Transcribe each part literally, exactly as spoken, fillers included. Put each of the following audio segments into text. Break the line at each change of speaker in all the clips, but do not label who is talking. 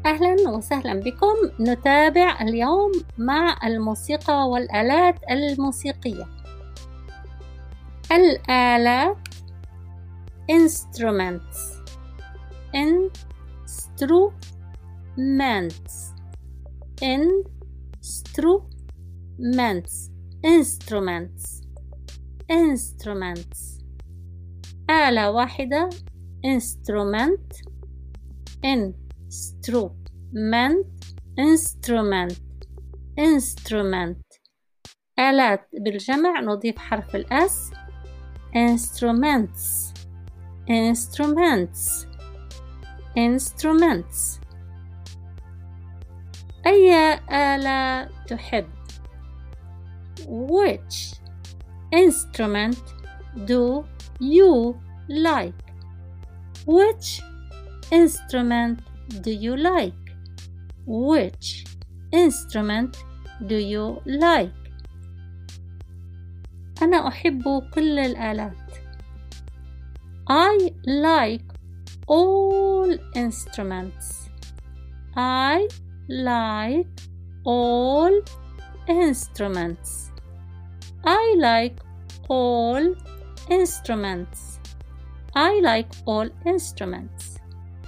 أهلا وسهلا بكم. نتابع اليوم مع الموسيقى والآلات الموسيقية. الآلات instruments instruments instruments instruments instruments آلة واحدة instrument instrument instrument instrument آلات بالجمع نضيف حرف الأس instruments instruments instruments أي آلة تحب؟ Which instrument do you like? Which instrument do you like? Which instrument do you like? أنا أحب كل الآلات. I like all instruments. I like all instruments. I like all instruments. I like all instruments.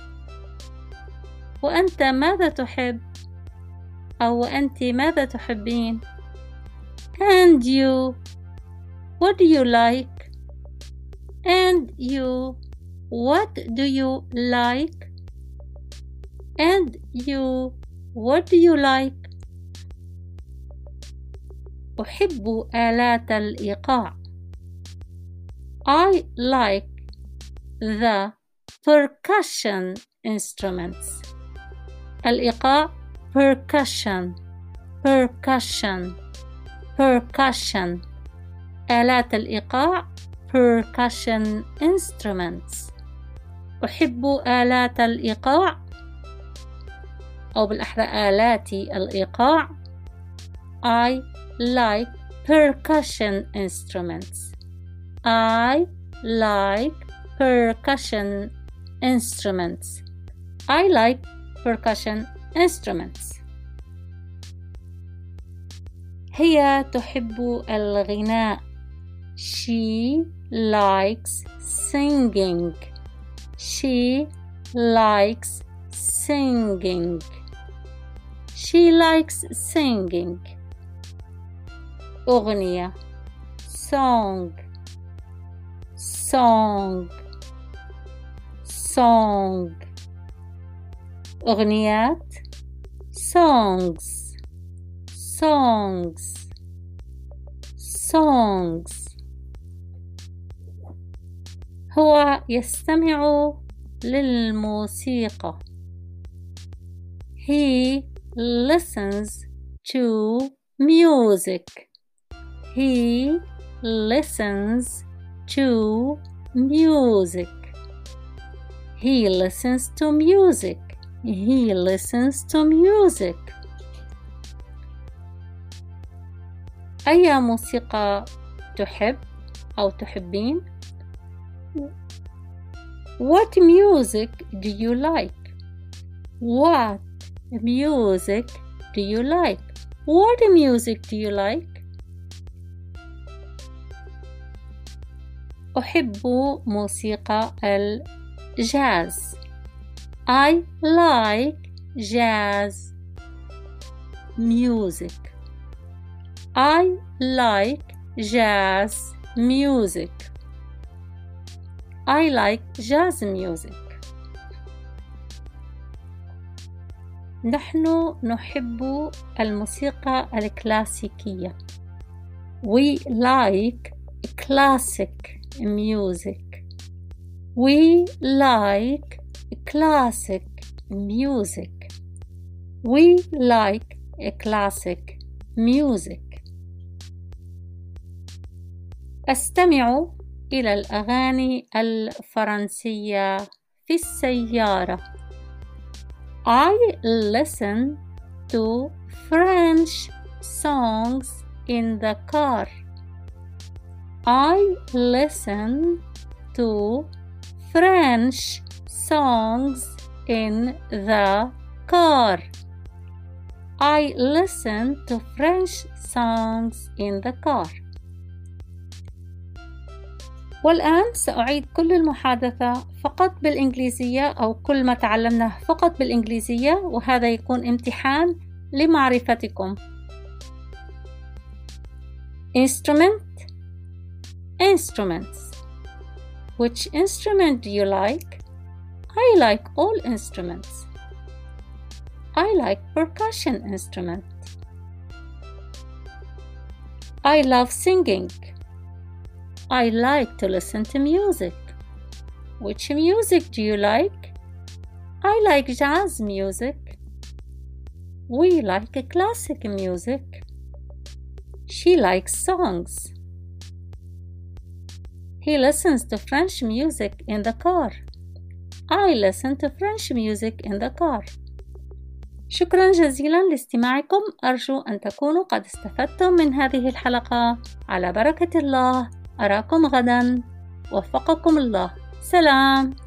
وأنت ماذا تحب؟ أو أنت ماذا تحبين؟ And you, what do you like? And you, what do you like? And you, what do you like? أحب آلات الإيقاع. I like the percussion instruments. الإيقاع percussion percussion percussion آلات الإيقاع percussion instruments. أحب آلات الإيقاع أو بالأحرى آلات الإيقاع. I like percussion instruments. I like percussion instruments. I like percussion instruments. هي تحب الغناء. She likes singing. She likes singing. She likes singing. أغنية song song song أغنيات songs songs songs هو يستمع للموسيقى. He listens to music. He listens to music. He listens to music. He listens to music. أي موسيقى تحب أو تحبين؟ What music do you like? What music do you like? What music do you like? أحب موسيقى الجاز. I like jazz music. I like jazz music. I like jazz music. نحن نحب الموسيقى الكلاسيكية. We like classic music. We like classic music. We like classic music. أستمع إلى الأغاني الفرنسية في السيارة. I listen to French songs in the car. I listen to French songs in the car. I listen to French songs in the car. والآن سأعيد كل المحادثة فقط بالإنجليزية أو كل ما تعلمناه فقط بالإنجليزية، وهذا يكون امتحان لمعرفتكم. Instrument. Instruments. Which instrument do you like? I like all instruments. I like percussion instrument. I love singing. I like to listen to music. Which music do you like? I like jazz music. We like classic music. She likes songs. He listens to French music in the car. I listen to French music in the car. شكرا جزيلا لاستماعكم. أرجو أن تكونوا قد استفدتم من هذه الحلقة. على بركة الله. أراكم غدا. وفقكم الله. سلام.